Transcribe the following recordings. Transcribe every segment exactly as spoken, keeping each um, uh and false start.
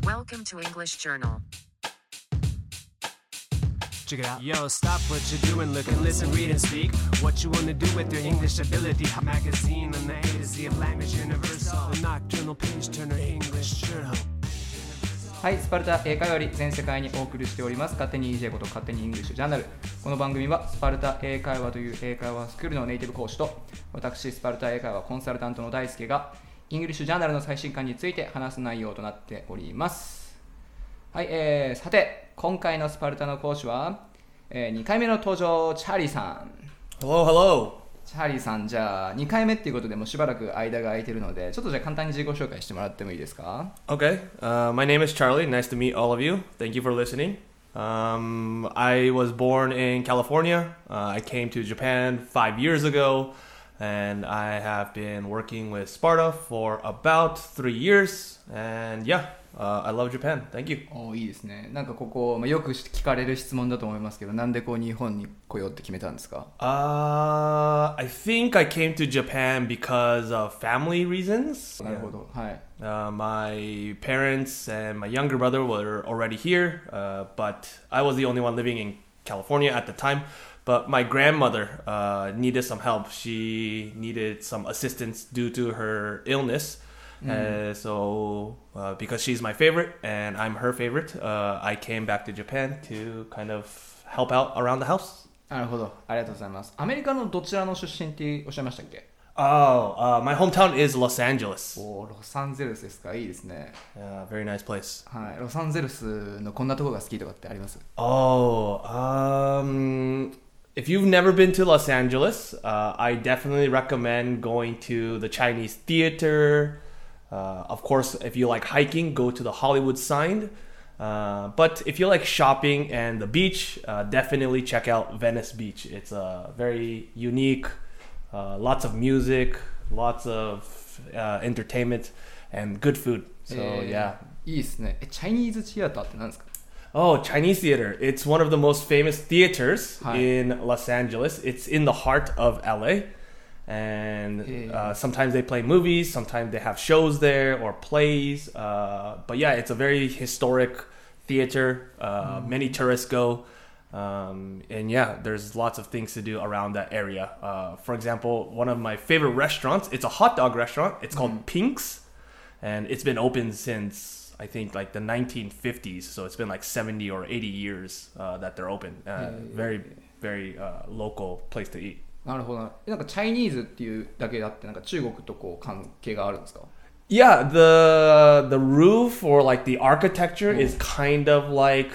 Welcome to English Journal. Check it out. Yo, stop what you're doing, look and listen, read and speak. What you wanna do with your English ability. Magazine on the A to Z of language universal. The nocturnal page turner English journal. はい、スパルタ英会話より全世界にお送りしております勝手に イージェー こと勝手にイングリッシュジャーナル。この番組はスパルタ英会話という英会話スクールのネイティブ講師と私スパルタ英会話コンサルタントの大輔がイングリッシュジャーナルの最新刊について話す内容となっております。はい、えー、さて今回のスパルタの講師は、えー、にかいめの登場チャーリーさん。 Hello, hello. チャーリーさん、じゃあにかいめっていうことでもうしばらく間が空いてるのでちょっとじゃあ簡単に自己紹介してもらってもいいですか？ Okay, uh, my name is Charlie. Nice to meet all of you. Thank you for listening. Um, I was born in California. Uh, I came to Japan five years ago, and I have been working with Sparta for about three years. And yeah, uh, I love Japan. Thank you. おいいですね。なんかここ、まあ、よく聞かれる質問だと思いますけど、なんでこう日本に来ようって決めたんですか？ Uh, I think I came to Japan because of family reasons. なるほど。はい。 Uh, my parents and my younger brother were already here, uh, but I was the only one living in California at the time. But my grandmother uh, needed some help. She needed some assistance due to her illness. Mm. Uh, so, uh, because she's my favorite and I'm her favorite, uh, I came back to Japan to kind of help out around the house. なるほど。ありがとうございます。アメリカのどちらの出身っておっしゃいましたっけ？ Oh, uh, my hometown is Los Angeles. おロサンゼルスですか？いいですね。 Yeah, very nice place. はい。ロサンゼルスのこんなところが好きとかってあります？ Oh, um, if you've never been to Los Angeles, uh, I definitely recommend going to the Chinese theater. Uh, of course, if you like hiking, go to the Hollywood sign. Uh, but if you like shopping and the beach, uh, definitely check out Venice Beach. It's a very unique, uh, lots of music, lots of uh, entertainment, and good food. So, えー yeah. いいですね。え、チャイニーズシアターって何ですか？ Oh, Chinese theater. It's one of the most famous theaters Hi. in Los Angeles. It's in the heart of L A. And Yeah. uh, sometimes they play movies, sometimes they have shows there or plays. Uh, but yeah, it's a very historic theater. Uh, mm. Many tourists go. Um, and yeah, there's lots of things to do around that area. Uh, for example, one of my favorite restaurants, it's a hot dog restaurant. It's called mm. Pink's. And it's been open since, I think, like the nineteen fifties. So it's been like seventy or eighty years uh, that they're open. Uh, yeah, yeah, very, yeah. very uh, local place to eat. なるほど。なんかチャイニーズっていうだけだってなんか中国とこう関係があるんですか？ Yeah, the the roof or like the architecture mm. is kind of like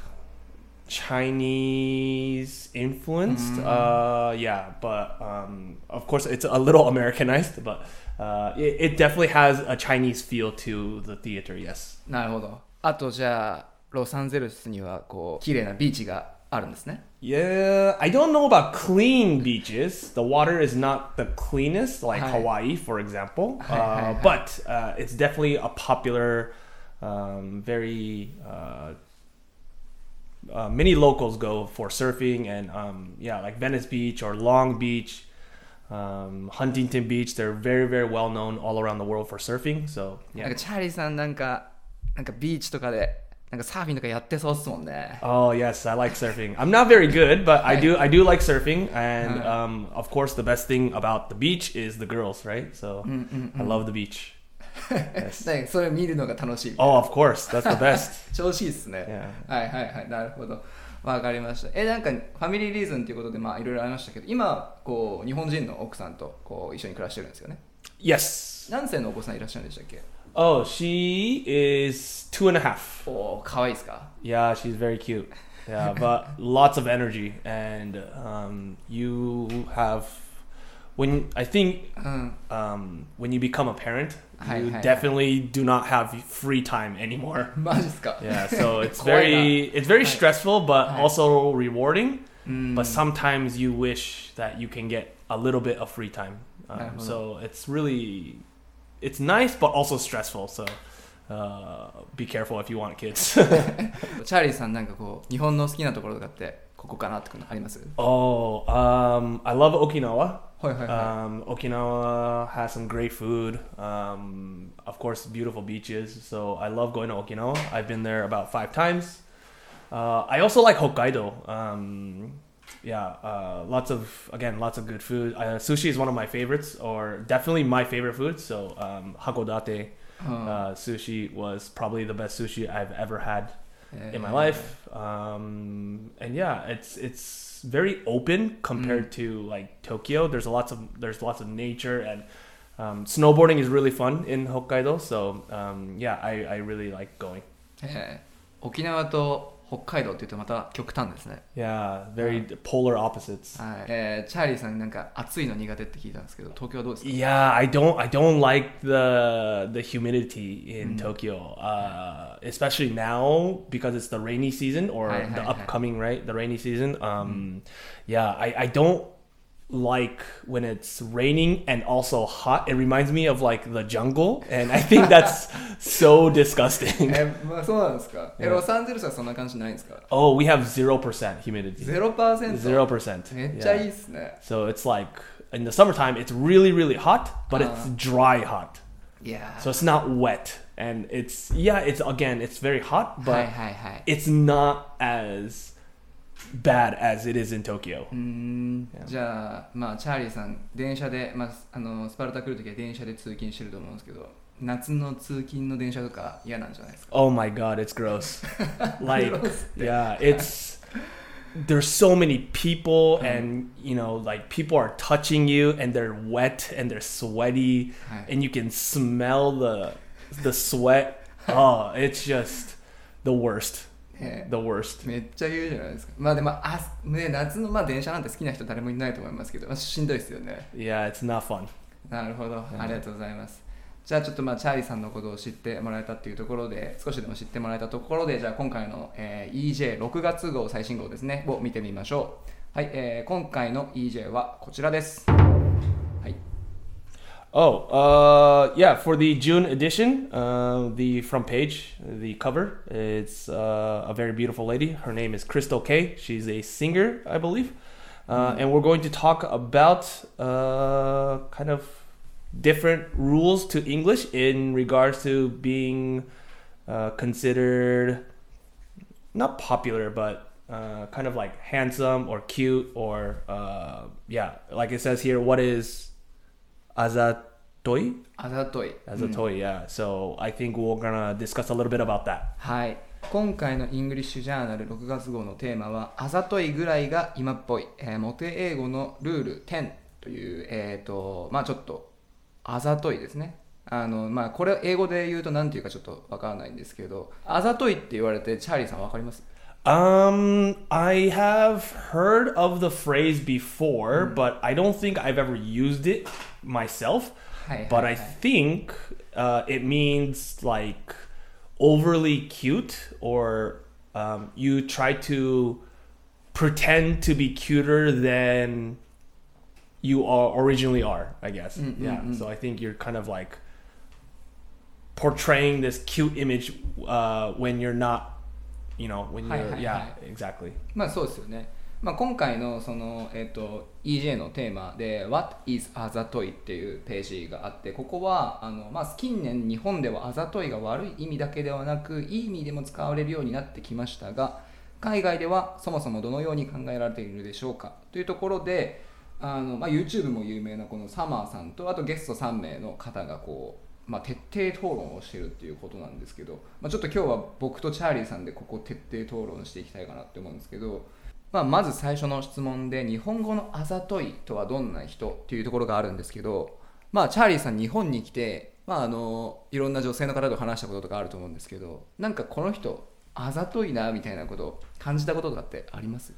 Chinese influenced. Mm. Uh, yeah, but um, of course it's a little Americanized, but uh, it, it definitely has a Chinese feel to the theater. Yes. なるほど。あとじゃあロサンゼルスにはこう綺麗なビーチがあるんですね。 Yeah, I don't know about clean beaches. The water is not the cleanest, like Hi. Hawaii, for example. Hi, uh, hi, hi. But uh, it's definitely a popular, um, very uh, uh, many locals go for surfing and um, yeah, like Venice Beach or Long Beach, um, Huntington Beach. They're very, very well known all around the world for surfing. So なん yeah. かチャーリーさんなんかなんかビーチとかでなんかサーフィンとかやってそうっすもんね。 Oh yes, I like surfing. I'm not very good, but I do I do like surfing, and Uh. um, of course the best thing about the beach is the girls, right? So I love the beach. Yes. だからそれ見るのが楽しい。 Oh, of course, that's the best. 調子いいっすね。 Yeah. はいはいはい、なるほど。わかりました。え、なんかファミリーリーズンということでまあいろいろありましたけど、今こう日本人の奥さんとこう一緒に暮らしてるんですよね。 Yes. 何歳のお子さんいらっしゃるんでしたっけ？ Oh, she is two and a half. おー、可愛いですか？ Yeah, she's very cute. Yeah, but lots of energy, and um, you have when I think Mm. um, when you become a parent, Hi, you hi, definitely do not have free time anymore. マジっすか？ Yeah, so it's 怖いな。 very it's very Hi. stressful, but Hi. also rewarding. Mm. But sometimes you wish that you can get a little bit of free time. Um, なるほど。 so it's really it's nice, but also stressful. So uh, be careful if you want kids. チャーリーさんなんかこう日本の好きなところとかってここかなってあります？ Oh, um, I love Okinawa. はいはいはい。 Um, Okinawa has some great food. Um, of course, beautiful beaches. So I love going to Okinawa. I've been there about five times. Uh, I also like Hokkaido. Um, yeah, uh, lots of again, lots of good food. Uh, sushi is one of my favorites, or definitely my favorite food. So um, Hakodate uh, sushi was probably the best sushi I've ever had in my life. Um, and yeah, it's it's very open compared to like Tokyo. There's lots of there's lots of nature, and um, snowboarding is really fun in Hokkaido. So um, yeah, I, I really like going. えー、沖縄と北海道って言うとまた極端ですね。 Yeah, very polar opposites. はい。えー、チャーリーさんなんか暑いの苦手って聞いたんですけど、東京はどうですか？ Yeah, I don't I don't like the the humidity in Tokyo, uh, especially now because it's the rainy season or Hi, hi, the hi. upcoming right the rainy season. Um, yeah, I I don't like when it's raining and also hot. It reminds me of like the jungle, and I think that's so disgusting. えー、まあそうなんですか。え、 Yeah. ロサンゼルスはそんな感じないんですか？ Oh, we have zero percent humidity. ゼロパーセント。 Zero percent. めっちゃいいっすね。 So it's like in the summertime, it's really really hot, but it's dry hot. いやー。 So it's not wet, and it's yeah, it's again, it's very hot, はい but はいはい。 it's not as bad as it is in Tokyo. うーん Yeah. じゃあ、まあ、チャーリーさん電車で、まあ、あのスパルタ来るときは電車で通勤してると思うんですけど、夏の通勤の電車とか嫌なんじゃないですか？ Oh my god, it's gross. Like yeah, it's there's so many people, and you know, like people are touching you, and they're wet and they're sweaty, はい。 and you can smell the the sweat. Oh, it's just the worst. え The worst. めっちゃ言うじゃないですか。まあでもあ、ね、夏の、まあ、電車なんて好きな人誰もいないと思いますけど、まあ、しんどいですよね。 Yeah, it's not fun. なるほど、ありがとうございます。じゃあちょっとまあチャーリーさんのことを知ってもらえたっていうところで、少しでも知ってもらえたところで、じゃあ今回の、えー、イージェーろくがつ号最新号ですねを見てみましょう。はい、えー、今回の イージェー はこちらです。はい。 Oh, uh, yeah, for the June edition, uh, the front page, the cover, it's uh, a very beautiful lady. Her name is Crystal Kay. She's a singer, I believe. Uh, and we're going to talk about uh, kind of different rules to English in regards to being uh, considered not popular, but uh, kind of like handsome or cute, or uh, yeah, like it says here, what is Azatoi? あざとい。 Azatoi, yeah. So I think we're gonna discuss a little bit about that. はい。今回のイングリッシュジャーナルろくがつ号のテーマはあざといぐらいが今っぽい、えー、モテ英語のルールじゅうという、えっ、ー、と、まあちょっとあざといですね。あの、まあこれ英語で言うと何て言うかちょっとわからないんですけど、あざといって言われてチャーリーさんわかります？ Um, I have heard of the phrase before, but I don't think I've ever used it myself. はいはいはい。 But I think uh, it means like overly cute, or um, you try to pretend to be cuter than you are originally are, I guess. Mm, mm, yeah. mm. So I think you're kind of like portraying this cute image uh, when you're not, you know, when you're, Hi, hi, yeah, hi. exactly. まあそうですよね。まあ、今回のその、えっと、イージェー のテーマで What is あざといっていうページがあって、ここはあの、まあ、近年日本ではあざといが悪い意味だけではなくいい意味でも使われるようになってきましたが、海外ではそもそもどのように考えられているでしょうかというところで、あの、まあ、YouTube も有名なこのサマーさんとあとゲストさんめいの方がこう、まあ、徹底討論をしているっていうことなんですけど、まあ、ちょっと今日は僕とチャーリーさんでここ徹底討論していきたいかなって思うんですけど、まあ、まず最初の質問で日本語のあざといとはどんな人っていうところがあるんですけど、まあ、チャーリーさん日本に来て、まあ、あのいろんな女性の方と話したこととかあると思うんですけど、なんかこの人あざといなみたいなことを感じたこととかってあります？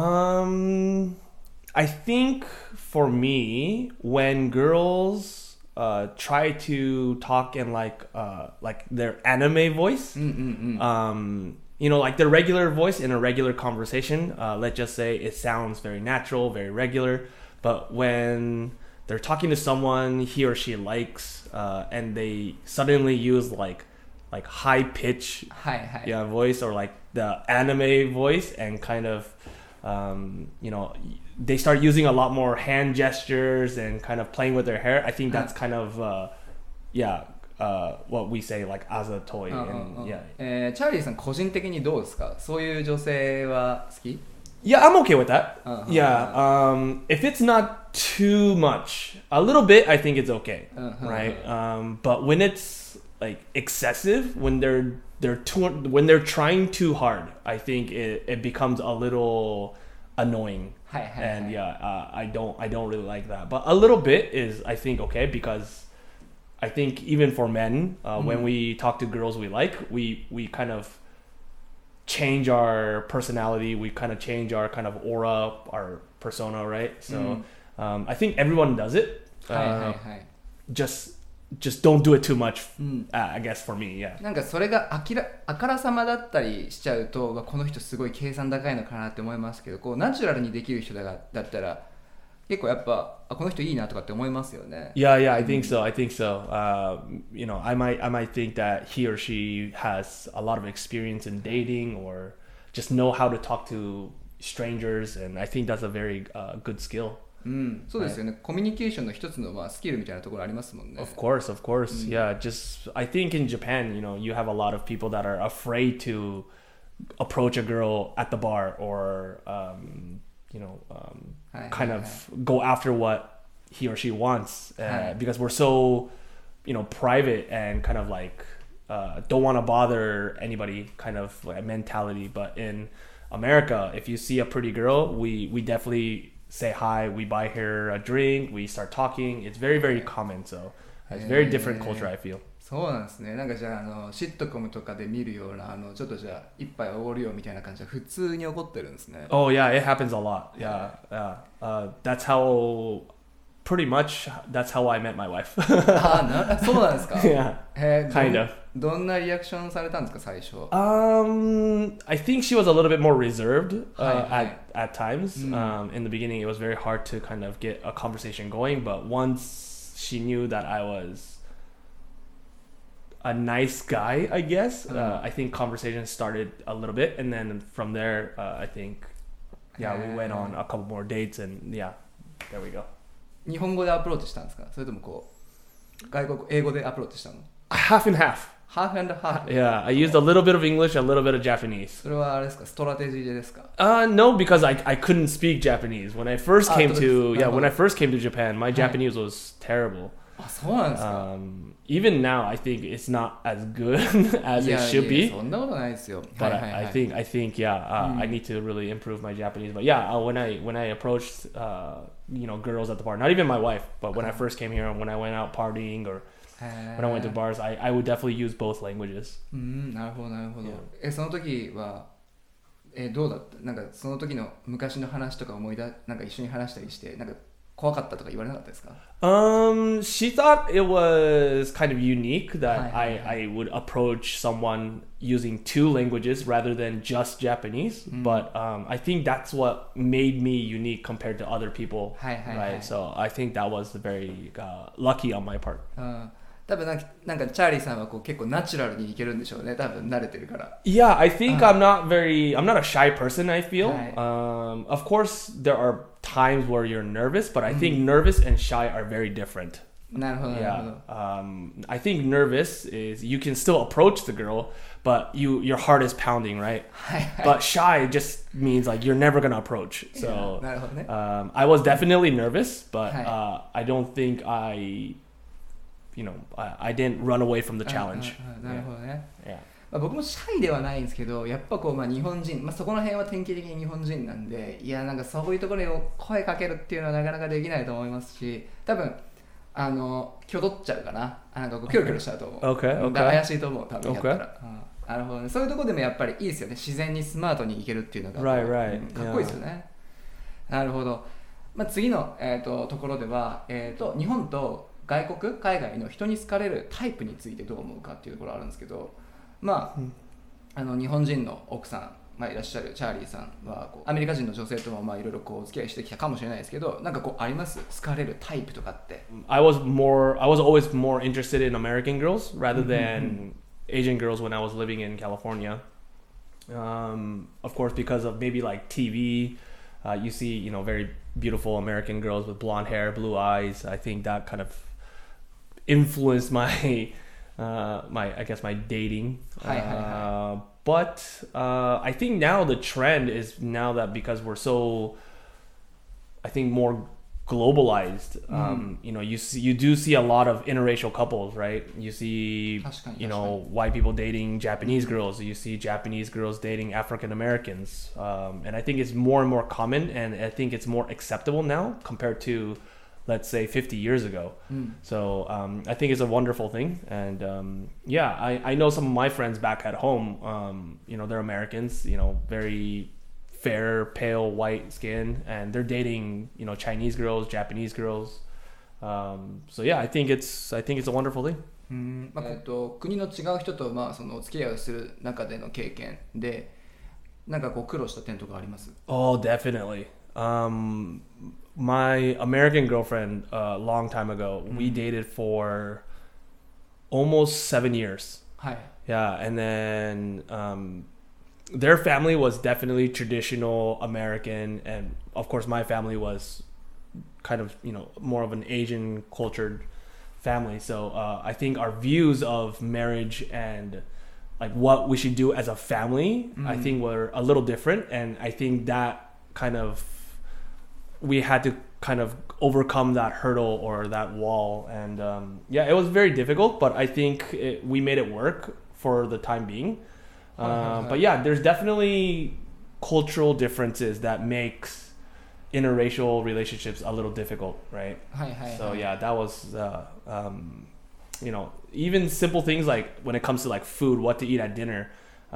Um, I think for me, when girls uh, try to talk in like uh, like their anime voice, うんうんうん。 um, you know, like their regular voice in a regular conversation, uh, let's just say it sounds very natural, very regular, but when they're talking to someone he or she likes, uh, and they suddenly use like like high pitch, はいはい。 yeah, voice, or like the anime voice, and kind of um, you know, they start using a lot more hand gestures and kind of playing with their hair. I think that's kind of, uh, yeah, uh, what we say like as a toy. うんうん And うん yeah. えーチャーリーさん個人的にどうですか？そういう女性は好き？ Yeah, I'm okay with that. Uh-huh. Yeah, um, if it's not too much, a little bit, I think it's okay, Uh-huh. right? Um, but when it's like excessive, when they're they're too, when they're trying too hard, I think it, it becomes a little annoying. はいはいはい And yeah, uh, I don't I don't really like that. But a little bit is I think okay because I think even for men, uh, when we talk to girls we like, we we kind of change our personality, we kind of change our kind of aura, our persona, right? So um, I think everyone does it. はいはいは Uh, い just just don't do it too much. うん Uh, I guess for me, yeah. なんかそれがあきらあからさまだったりしちゃうと、まあこの人すごい計算高いのかなって思いますけど、こうナチュラルにできる人だがだったら結構やっぱあこの人いいなとかって思いますよね。 Yeah, yeah, I think so. I think so. Uh, you know, I might, I might think that he or she has a lot of experience in dating, or just know how to talk to strangers, and I think that's a very uh, good skill. うん、そうですよね。コミュニケーションの一つのまあスキルみたいなところありますもんね。 Of course, of course. Yeah, just I think in Japan, you know, you have a lot of people that are afraid to approach a girl at the bar, or um, you know, um, Hi, kind hi, of go after what he or she wants, uh, Hi. because we're so, you know, private and kind of like uh, don't want to bother anybody kind of like mentality. But in America, if you see a pretty girl, we we definitely say hi, we buy her a drink, we start talking. It's very very common. So it's a very different culture, I feel. そうなんですね。なんかじゃあ、あのシットコムとかで見るようなあのちょっとじゃあ一杯おごるよみたいな感じは普通に起こってるんですね。 Oh yeah, it happens a lot. Yeah, yeah. Uh, that's how, pretty much, that's how I met my wife. あなそうなんですか。 Yeah, へー kind of. どんなリアクションされたんですか最初。 Um, I think she was a little bit more reserved uh, Hi, hi. at at times. Mm. Um, in the beginning, it was very hard to kind of get a conversation going. But once she knew that I was a nice guy, I guess, uh, I think conversation started a little bit, and then from there, uh, I think, yeah, we went on a couple more dates, and yeah, there we go. 日本語でアプローチしたんですかそれともこう外国英語でアプローチしたの？ Half and half. ハーフ&ハーフ。 Yeah, I used a little bit of English, a little bit of Japanese. それはあれですかストラテジーでですか？ Uh, no, because I I couldn't speak Japanese when I first Ah, came so to it's- yeah uh-huh. when I first came to Japan. My Hi. Japanese was terrible. あそうなんですか。 Um, even now, I think it's not as good as い it や should いや be. そんなことないですよ。 But はいはいは I, い I think I think yeah, uh, Mm. I need to really improve my Japanese. But yeah, uh, when I when I approached uh, you know girls at the bar, not even my wife, but when I Uh-huh. first came here and when I went out partying or へー when I went to bars, I, I would definitely use both languages. うんなるほどなるほど。 Yeah. えその時はえどうだったなんかその時の昔の話とか思い出なんか一緒に話したりしてなんか怖かったとか言われなかったですか？ Um, she thought it was kind of unique that Hi, hi, I, I would approach someone using two languages rather than just Japanese. Mm. But um, I think that's what made me unique compared to other people. Hi, hi, right. hi. So I think that was very uh, lucky on my part. うん多分なんかなんかチャーリーさんはこう結構ナチュラルにいけるんでしょうね多分慣れてるから。 Yeah, I think Uh. I'm not very. I'm not a shy person. I feel. Hi. Um, of course, there are times where you're nervous, but I think Mm. nervous and shy are very different. なるほどなるほ Yeah. ど。 Um, I think nervous is you can still approach the girl, but you your heart is pounding, right? はいはい But shy just means like you're never gonna approach. So なるほどね。 um, I was definitely nervous, but Hi. uh, I don't think I, you know, I, I didn't run away from the challenge. うんうんうんなるほどね。 Yeah. まあ、僕もシャイではないんですけどやっぱこうまあ日本人、まあ、そこの辺は典型的に日本人なんでいやなんかそういうところに声かけるっていうのはなかなかできないと思いますし多分あの挙動っちゃうかなあなんかこうキョロキョロしちゃうと思う Okay, うん okay. だから怪しいと思う多分やったら、 Okay. うんなるほどねそういうところでもやっぱりいいですよね自然にスマートにいけるっていうのが Right, right. うんかっこいいですよね、なるほど、まあ、次の、えー、とところでは、えー、と日本と外国海外の人に好かれるタイプについてどう思うかっていうところあるんですけどまあ、 うんあの日本人の奥さん、まあ、いらっしゃるチャーリーさんはこうアメリカ人の女性ともまあいろいろこうお付き合いしてきたかもしれないですけどなんかこうあります好かれるタイプとかって I was more. I was always more interested in American girls rather than Asian girls when I was living in California. Um, of course, because of maybe like T V, uh, you see, you know, very beautiful American girls with blonde hair, blue eyes. I think that kind of influenced my, uh, my I guess my dating. Hi, hi, hi. Uh, but uh, I think now the trend is now that because we're so, I think more globalized. Um, you know, you see, you do see a lot of interracial couples, right? You see, 確かに、 you know, white people dating Japanese girls. You see Japanese girls dating African Americans. Um, and I think it's more and more common, and I think it's more acceptable now compared to, let's say, fifty years ago. So um, I think it's a wonderful thing. And um, yeah, I, I know some of my friends back at home, um, you know, they're Americans, you know, very fair, pale, white skin, and they're dating, you know, Chinese girls, Japanese girls. Um, so yeah, I think it's I think it's a wonderful thing. うんまあえっと、国の違う人と、まあ、そのお付き合いをする中での経験でなんかこう苦労した点とかあります？ Oh, definitely. Um, my American girlfriend, a uh, long time ago, mm. we dated for almost seven years. Hi. Yeah, and then um, their family was definitely traditional American, and of course my family was kind of, you know, more of an Asian cultured family. So uh, I think our views of marriage and like what we should do as a family, mm. I think were a little different, and I think that kind of we had to kind of overcome that hurdle or that wall, and um, yeah, it was very difficult, but I think it, we made it work for the time being. Uh, but yeah, there's definitely cultural differences that makes interracial relationships a little difficult, right? Hi, hi, so hi. yeah, that was uh, um, you know, even simple things like when it comes to like food, what to eat at dinner,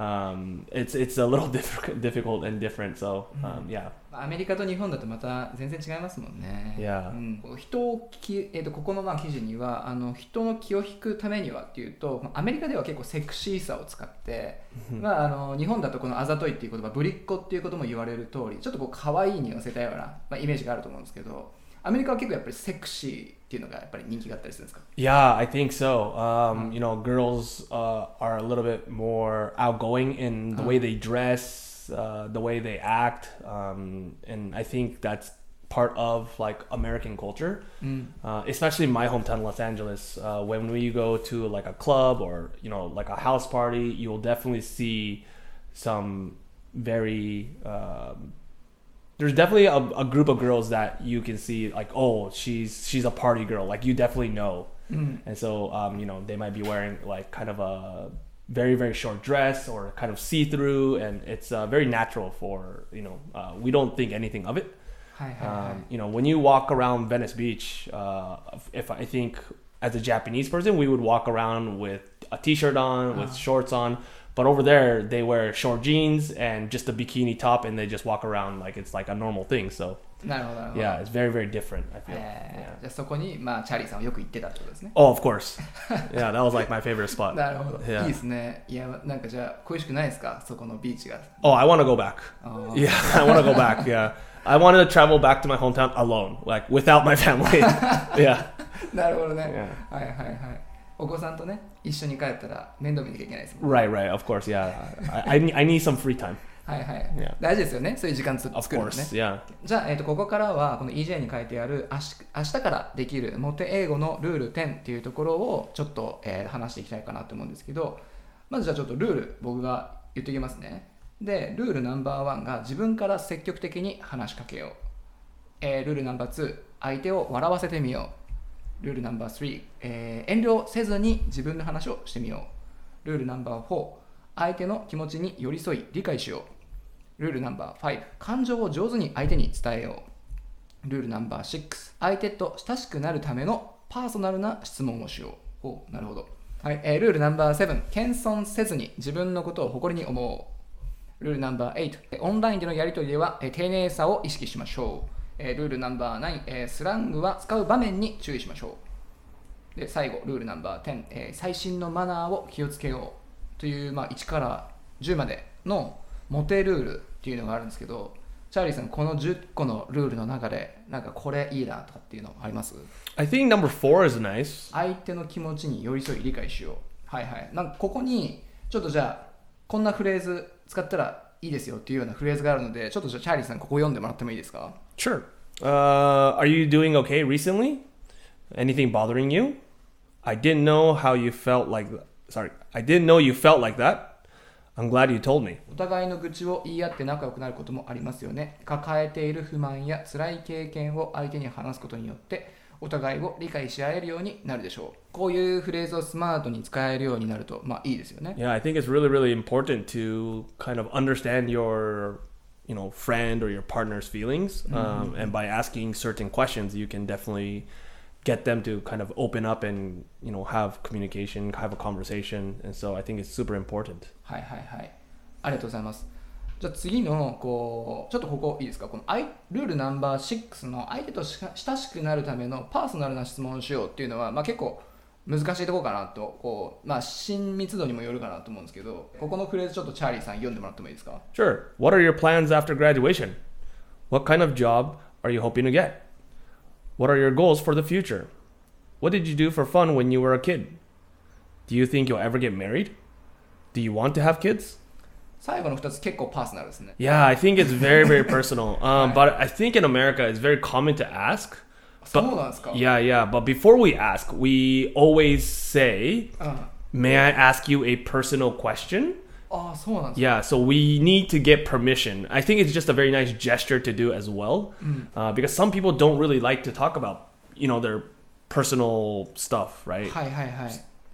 um, it's it's a little diff- difficult and different. So um, yeah. アメリカと日本だとまた全然違いますもんね。 Yeah. うん、人をき、えー、とここのまあ記事にはあの人の気を引くためにはっていうと、アメリカでは結構セクシーさを使って、まあ、あの日本だとこのあざといっていう言葉、ぶりっ子っていうことも言われる通り、ちょっとこう可愛いに寄せたような、まあ、イメージがあると思うんですけど、アメリカは結構やっぱりセクシーっていうのがやっぱり人気があったりするんですか？ Yeah, I think so. Um, you know, girls uh, are a little bit more outgoing in the way they dress. Uh, the way they act, um, and I think that's part of like American culture, mm. uh, especially in my hometown, Los Angeles. Uh, when we go to like a club or, you know, like a house party, you'll definitely see some very um, there's definitely a, a group of girls that you can see like, oh, she's she's a party girl, like you definitely know. Mm. And so um, you know, they might be wearing like kind of a very very short dress or kind of see-through, and it's uh, very natural for, you know, uh, we don't think anything of it. Hi, hi, um, hi. You know, when you walk around Venice Beach, uh, if I think as a Japanese person, we would walk around with a t-shirt on, with uh. shorts on, but over there they wear short jeans and just a bikini top, and they just walk around like it's like a normal thing. So なるほどなるほど。 Yeah, it's very very different, I feel. えー、じゃあそこに、まあ、チャーリーさんはよく行ってたってことですね。 Oh, of course. Yeah, that was like my favorite spot. なるほど。 Yeah. いいですね。いや、なんかじゃあ恋しくないですか、そこのビーチが。 Oh, I want to go back. Oh. Yeah, I want to go back. Yeah, I wanted to travel back to my hometown alone, like without my family. Yeah. なるほどね。Yeah. はいはいはい。お子さんとね、一緒に帰ったら面倒見なきゃいけないですもん。 Right, right. Of course, yeah. I, I, need, I need some free time. はいはい、 yeah. 大事ですよね、そういう時間作るのね。 Of course, yeah. じゃあ、えー、とここからはこの イージェー に書いてある明日、明日からできるモテ英語のルールじゅうっていうところをちょっと、えー、話していきたいかなと思うんですけど、まずじゃあちょっとルール僕が言っておきますね。で、ルールナンバーワンが自分から積極的に話しかけよう。えー、ルールナンバーツー、相手を笑わせてみよう。ルールナンバースリー、えー、遠慮せずに自分の話をしてみよう。ルールナンバーフォー、相手の気持ちに寄り添い理解しよう。ルールナンバーファイブ、感情を上手に相手に伝えよう。ルールナンバーシックス、相手と親しくなるためのパーソナルな質問をしよう。お、なるほど。はい、えー、ルールナンバーセブン、謙遜せずに自分のことを誇りに思う。ルールナンバーエイト、オンラインでのやり取りでは、えー、丁寧さを意識しましょう。えー、ルールナンバーナイン、えー、スラングは使う場面に注意しましょう。で、最後、ルールナンバーテン、えー、最新のマナーを気をつけようという、まあ、いちからじゅうまでのモテルールっていうのがあるんですけど、チャーリーさん、このじゅっこのルールの中でなんかこれいいなとかっていうのあります？ I think number four is nice. 相手の気持ちに寄り添い理解しよう。はいはい。なんかここにちょっとじゃあこんなフレーズ使ったらいいですよっていうようなフレーズがあるので、ちょっとじゃあチャーリーさんここ読んでもらってもいいですか？ Sure. Uh, are you doing okay recently? Anything bothering you? I didn't know how you felt like sorry. I didn't know you felt like that. I'm glad you told me. お互いの愚痴を言い合って仲良くなることもありますよね。抱えている不満や辛い経験を相手に話すことによってお互いを理解し合えるようになるでしょう。こういうフレーズをスマートに使えるようになると、まあいいですよね。 Yeah, I think it's really, really important to kind of understand your, you know, friend or your partner's feelings. Um, and by asking certain questions, you can definitely get them to kind of open up and, you know, have communication, have a conversation. And so I think it's super important. はいはいはい。ありがとうございます。じゃあ次のこうちょっとここいいですか、このルールナンバーろくの相手と親しくなるためのパーソナルな質問をしようっていうのは、まあ、結構難しいところかなとこう、まあ、親密度にもよるかなと思うんですけど、ここのフレーズちょっとチャーリーさん読んでもらってもいいですか？ Sure. What are your plans after graduation? What kind of job are you hoping to get? What are your goals for the future? What did you do for fun when you were a kid? Do you think you'll ever get married? Do you want to have kids? 最後のふたつ結構パーソナルですね。 Yeah, I think it's very, very personal. Um, but I think in America, it's very common to ask. そうなんですか？ Yeah, yeah. But before we ask, we always say, may I ask you a personal question? ああ、そうなんですか？ Yeah, so we need to get permission. I think it's just a very nice gesture to do as well. Uh, because some people don't really like to talk about, you know, their personal stuff, right? はいはいはい。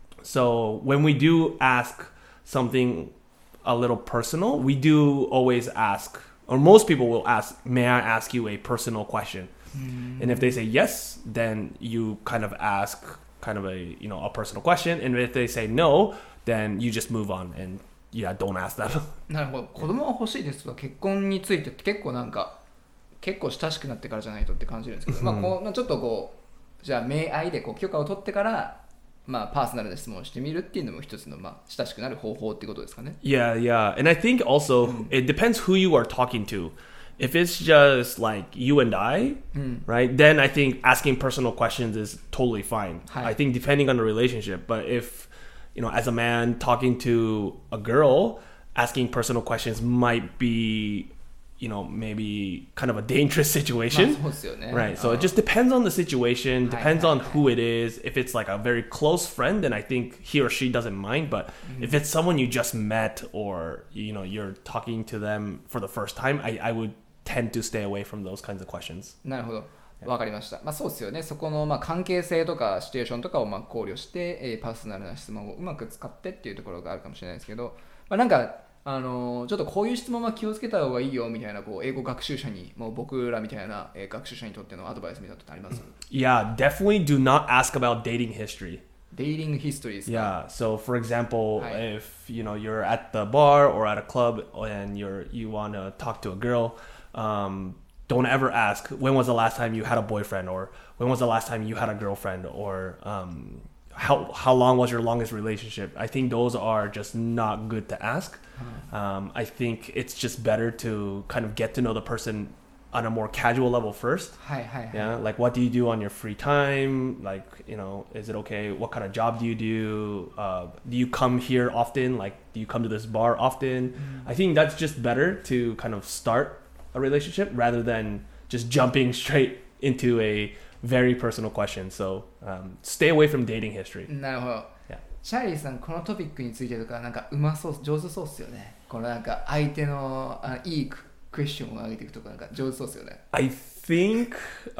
So when we do ask something a little personal, we do always ask, or most people will ask, may I ask you a personal question? Mm. And if they say yes, then you kind of ask kind of a, you know, a personal question. And if they say no, then you just move on and yeah, don't ask them. なるほど。子供は欲しいですとか結婚についてって結構なんか結構親しくなってからじゃないとって感じるんですけど、まあこうちょっとこうじゃあ明愛でこう許可を取ってからまあ、パーソナルな質問をしてみるっていうのも一つの、まあ、親しくなる方法ってことですかね。 Yeah, yeah. And I think also it depends who you are talking to. If it's just like you and I, right, then I think asking personal questions is totally fine. I think depending on the relationship. But if, you know, as a man talking to a girl, asking personal questions might be, you know, maybe kind of a dangerous situation. まあそうですよね。 Right. So it just depends on the situation, depends on who it is. If it's like a very close friend, then I think he or she doesn't mind. But if it's someone you just met or, you know, you're talking to them for the first time, I, I would tend to stay away from those kinds of questions. なるほど。わかりました。まあそうですよね。そこのまあ関係性とかシチュエーションとかをまあ考慮して、えー、パーソナルな質問をうまく使ってっていうところがあるかもしれないですけど、まあなんかあのー、ちょっとこういう質問は気をつけた方がいいよみたいなこう英語学習者にもう僕らみたいな、えー、学習者にとってのアドバイスみたいなのってあります？ Yeah, definitely do not ask about dating history. Dating history ですか？ Yeah. So for example, はい。 if you know you're at the bar or at a club and you're you want to talk to a girl, um, don't ever ask when was the last time you had a boyfriend or when was the last time you had a girlfriend or um, how how long was your longest relationship. I think those are just not good to ask. Um, I think it's just better to kind of get to know the person on a more casual level first. はいはいはい。 Yeah, like what do you do on your free time? Like, you know, is it okay? What kind of job do you do? Uh, do you come here often? Like, do you come to this bar often? I think that's just better to kind of start a relationship rather than just jumping straight into a very personal question. So um, stay away from dating history. なるほど。 Yeah. チャーリーさんこのトピックについてとかなんかうまそう上手そうっすよね。このなんか相手のあいいクエスチョンを上げていくとかなんか上手そうっすよね。 I think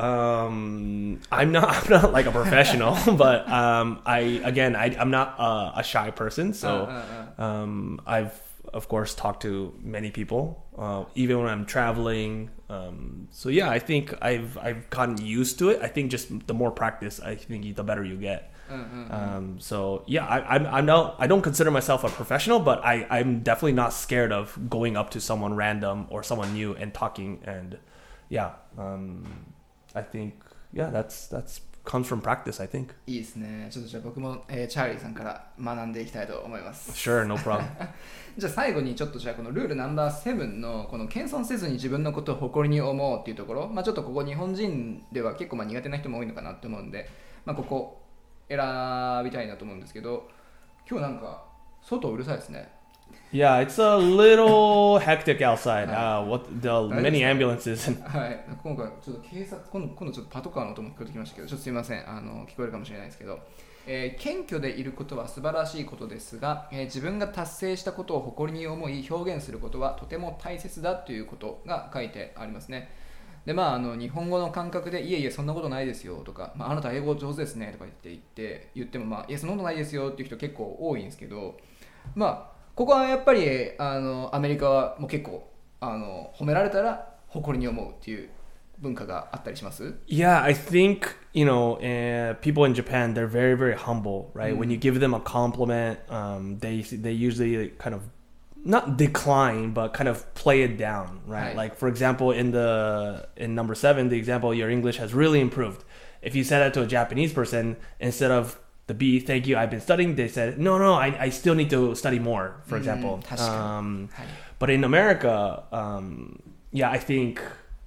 um, I'm not I'm not like a professional, but um, I again I, I'm not uh, a shy person, so um, I've of course talked to many people, uh, even when I'm traveling. Um, so yeah, I think I've I've gotten used to it. I think just the more practice, I think the better you get. Um, so yeah, I, I'm I'm not I don't consider myself a professional, but I I'm definitely not scared of going up to someone random or someone new and talking. And yeah, um, I think yeah, that's that's comes from practice. I think. いいですね。ちょっとじゃあ僕も、えー、チャーリーさんから学んでいきたいと思います。 Sure, no problem. じゃあ最後にちょっとじゃあこのルールナンバーセブンのこの謙遜せずに自分のことを誇りに思うっていうところ、まあちょっとここ日本人では結構まあ苦手な人も多いのかなって思うんで、まあここ選びたいなと思うんですけど、今日なんか外うるさいですね。 Yeah, it's a little hectic outside. Uh, what the many ambulances. はい、今回ちょっと警察今度今度ちょっとパトカーの音も聞こえてきましたけど、ちょっとすみません、あの聞こえるかもしれないですけど、えー、謙虚でいることは素晴らしいことですが、えー、自分が達成したことを誇りに思い表現することはとても大切だということが書いてありますね。でまあ、あの日本語の感覚でいえいえそんなことないですよとか、まあ、あなた英語上手ですねとか言って言って言っても、まあ、いやそんなことないですよっていう人結構多いんですけど、まあここはやっぱりあのアメリカはもう結構あの褒められたら誇りに思うっていう文化があったりします？ Yeah, I think, you know, uh, people in Japan, they're very, very humble, right? Mm. When you give them a compliment, um, they they usually kind of not decline, but kind of play it down, right? right? Like, for example, in the in number seven, the example, your English has really improved. If you said that to a Japanese person, instead of the B, thank you, I've been studying, they said, no, no, I, I still need to study more, for example. Mm, um, but in America, um, yeah, I think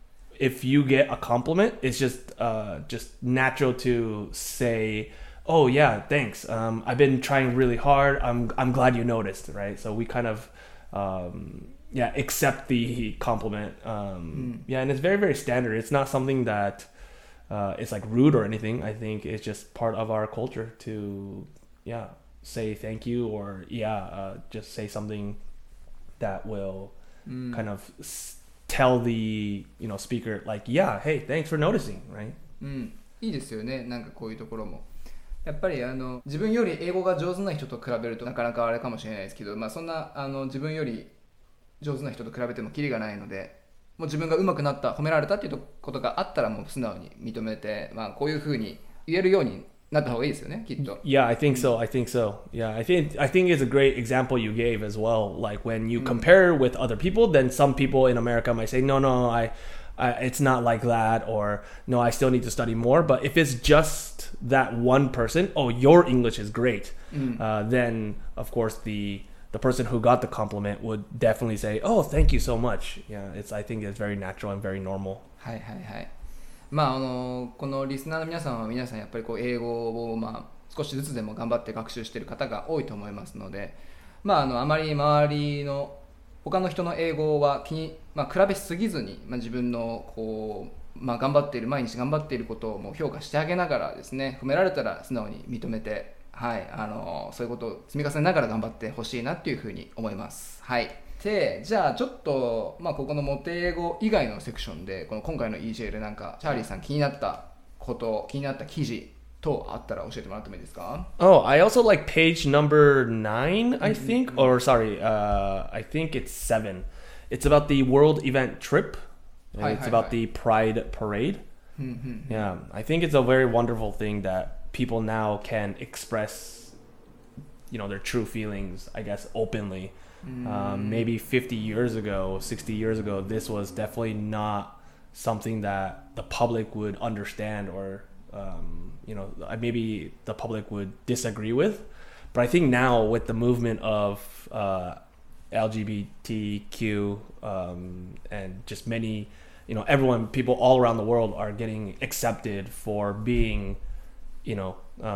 if you get a compliment, it's just uh, just natural to say, oh, yeah, thanks. Um, I've been trying really hard. I'm I'm glad you noticed, right? So we kind of, um, yeah, accept the compliment. Um, mm. Yeah, and it's very, very standard. It's not something that uh, it's like rude or anything. I think it's just part of our culture to, yeah, say thank you or, yeah, uh, just say something that will mm. kind of tell the, you know, speaker, like, yeah, hey, thanks for noticing, right? うん、いいですよね。なんかこういうところも。やっぱりあの自分より英語が上手な人と比べるとなかなかあれかもしれないですけど、まあ、そんなあの自分より上手な人と比べてもキリがないので、もう自分が上手くなった、褒められたっていうことがあったらもう素直に認めて、まあ、こういうふうに言えるようになった方がいいですよね、きっと。 Yeah, I think so. I think so. Yeah, I think I think it's a great example you gave as well. Like when you compare with other people, then some people in America might say, no, no, I, I, it's not like that, or no, I still need to study more. But if it's just that one person, oh, your English is great, mm. uh, then of course the the person who got the compliment would definitely say, oh, thank you so much. Yeah, it's I think it's very natural and very normal. はいはいはい。まあ、あのこのリスナーの皆さんは皆さんやっぱりこう英語をまあ少しずつでも頑張って学習している方が多いと思いますので、まあ、あのあまり周りの他の人の英語は気に、まあ、比べすぎずに、まあ、自分のこう、まあ、頑張っている毎日頑張っていることをもう評価してあげながらですね、褒められたら素直に認めて、はい、あのそういうことを積み重ねながら頑張ってほしいなっていうふうに思います。はい。でじゃあちょっと、まあ、ここのモテ英語以外のセクションでこの今回の イージェー でなんかチャーリーさん気になったこと気になった記事等あったら教えてもらってもいいですか？ Oh, I also like page number nine, I think, or sorry, uh, I think it's seven. It's about the world event trip. And it's about the Pride Parade. Yeah, I think it's a very wonderful thing that people now can express, you know, their true feelings, I guess, openly. Um, maybe fifty years ago, sixty years ago, this was definitely not something that the public would understand or, um, you know, maybe the public would disagree with. But I think now with the movement of uh, L G B T Q um, and just many, you know, everyone, people all around the world are getting accepted for being, you know,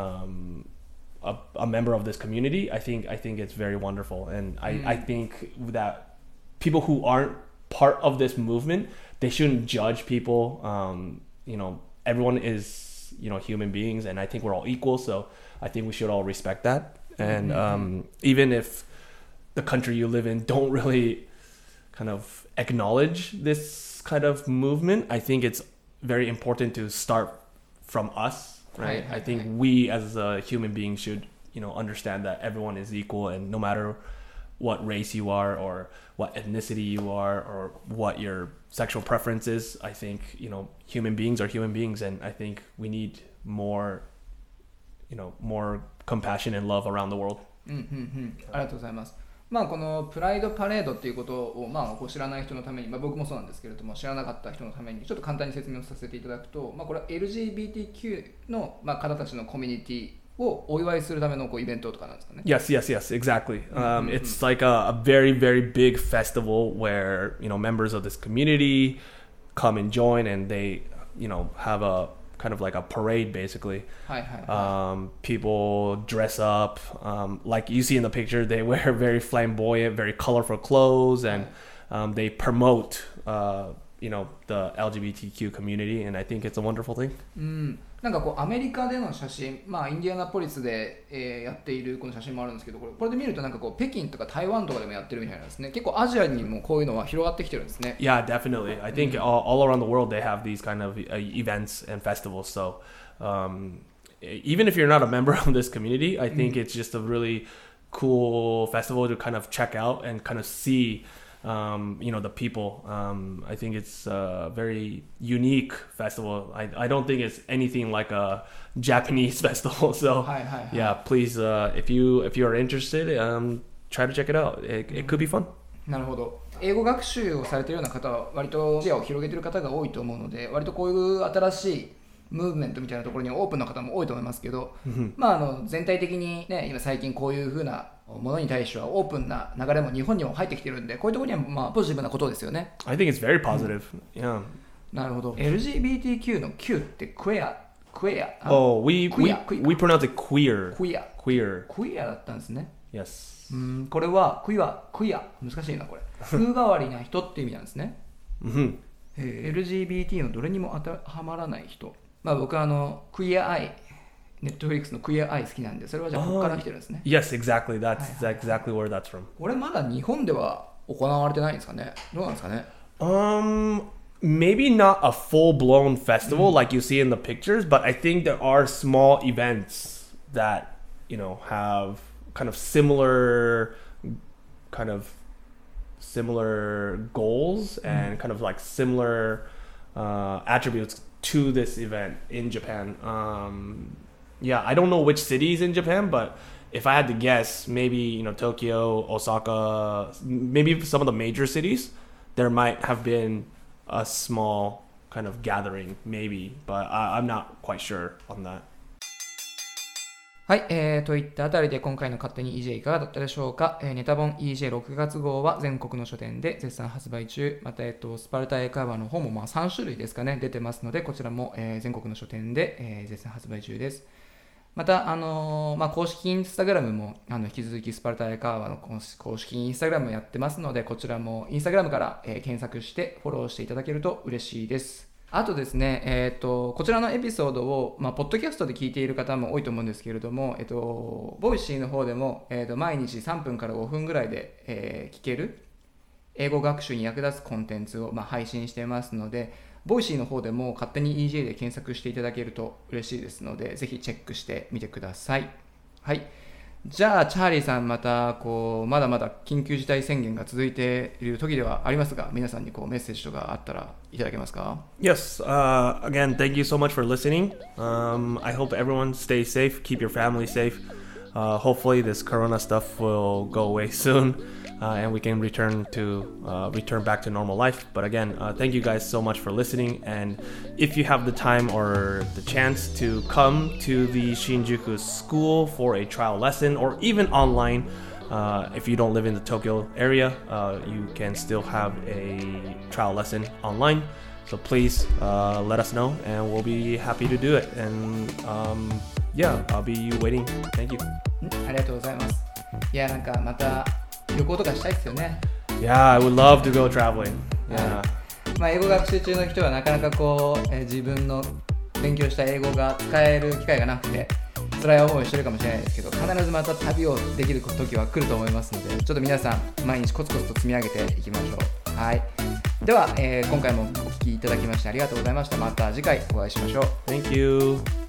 um, A, a member of this community. I think I think it's very wonderful, and I, mm. I think that people who aren't part of this movement, they shouldn't judge people. Um, you know, everyone is, you know, human beings, and I think we're all equal. So I think we should all respect that. And mm-hmm. um, even if the country you live in don't really kind of acknowledge this kind of movement, I think it's very important to start from us. Right. I think we as a human being should, you know, understand that everyone is equal, and no matter what race you are or what ethnicity you are or what your sexual preference is, I think, you know, human beings are human beings, and I think we need more, you know, more compassion and love around the world. うんうんうん。ありがとうございます。まあ、このプライドパレードっていうことを、まあ、こう知らない人のために、まあ、僕もそうなんですけれども知らなかった人のためにちょっと簡単に説明をさせていただくと、まあ、これは エルジービーティーキュー の、まあ、方たちのコミュニティをお祝いするためのこうイベントとかなんですかね。 Yes, yes, yes, exactly. Um, it's like a, a very, very big festival where, you know, members of this community come and join, and they, you know, have a kind of like a parade basically. はいはいはい。 Um, people dress up, um, like you see in the picture. They wear very flamboyant, very colorful clothes, and um, they promote, uh, you know, the L G B T Q community, and I think it's a wonderful thing. うん、なんかこうアメリカでの写真、まあインディアナポリスで、えー、やっているこの写真もあるんですけど、これこれで見るとなんかこう北京とか台湾とかでもやってるみたいなんですね。結構アジアにもこういうのは広がってきてるんですね。 Yeah, definitely. I think all, all around the world they have these kind of uh, events and festivals. So um, even if you're not a member of this community, I think it's just a really cool festival to kind of check out and kind of see, um, you know, the people. Um, I think it's a very unique festival. I, I don't think it's anything like a Japanese festival. So はいはいはい。 yeah, please, uh, if you if you are interested, um, try to check it out. It, it could be fun. なるほど。英語学習をされているような方は割と視野を広げている方が多いと思うので、割とこういう新しいムーブメントみたいなところにオープンな方も多いと思いますけど、まああの全体的にね、今最近こういう風なものに対してはオープンな流れも日本にも入ってきてるんで、こういうところにはまあポジティブなことですよね。 I think it's very positive. Yeah. なるほど。 エルジービーティーキュー の Q ってクエア、クエア。 Oh, we we, Queer, queer. we pronounce it queer. クエア。 Queer. クエアだったんですね。 Yes. うん、これはクイア、クイア、難しいなこれ。風変わりな人って意味なんですね。 Mm-hmm. えー エルジービーティー のどれにも当てはまらない人。まあ僕はあのクイアアイ、ネットフリックスのクイアアイ好きなんで、それはじゃあここから来てるんですね。 Yes, exactly. That's Hi, hi, exactly where that's from. これまだ日本では行われてないんですかね。どうなんですかね。 Um, maybe not a full-blown festival like you see in the pictures, but I think there are small events that, you know, have kind of similar, kind of similar goals and kind of like similar uh, attributes to this event in Japan. Um, yeah, I don't know which cities in Japan, but if I had to guess, maybe, you know, Tokyo, Osaka, maybe some of the major cities, there might have been a small kind of gathering, maybe, but I, I'm not quite sure on that. はい、えー、といったあたりで今回の勝手に イージェー いかがだったでしょうか。えー、ネタ本 イージェーろく 月号は全国の書店で絶賛発売中。また、えっと、スパルタ英会話の本もまあさん種類ですかね、出てますので、こちらも、えー、全国の書店で、えー、絶賛発売中です。また、あのーまあ、公式インスタグラムもあの引き続きスパルタ英会話の公式インスタグラムやってますので、こちらもインスタグラムから、えー、検索してフォローしていただけると嬉しいです。あとですね、えー、とこちらのエピソードを、まあ、ポッドキャストで聞いている方も多いと思うんですけれども、えー、とボイシーの方でも、えー、と毎日さんぷんからごふんぐらいで、えー、聞ける英語学習に役立つコンテンツを、まあ、配信していますので、ボイシーの方でも勝手に イージェー で検索していただけると嬉しいですので、ぜひチェックしてみてください。はい。じゃあチャーリーさん、またこうまだまだ緊急事態宣言が続いている時ではありますが、皆さんにこうメッセージとかあったらいただけますか？ Yes, uh, again, thank you so much for listening. Um, I hope everyone stays safe, keep your family safe. Uh, hopefully this corona stuff will go away soon. Uh, and we can return to uh, return back to normal life. But again, uh, thank you guys so much for listening. And if you have the time or the chance to come to the Shinjuku school for a trial lesson, or even online, uh, if you don't live in the Tokyo area, uh, you can still have a trial lesson online. So please uh, let us know, and we'll be happy to do it. And um, yeah, I'll be waiting. Thank you. ありがとうございます。いや、なんかまた旅行とかしたいですよね。 Yeah, I would love to go traveling. Yeah. まあ英語学習中の人はなかなかこう、えー、自分の勉強した英語が使える機会がなくて辛い思いをしてるかもしれないですけど、必ずまた旅をできる時は来ると思いますので、ちょっと皆さん毎日コツコツと積み上げていきましょう。はい。では、えー、今回もお聞きいただきましてありがとうございました。また次回お会いしましょう。 Thank you.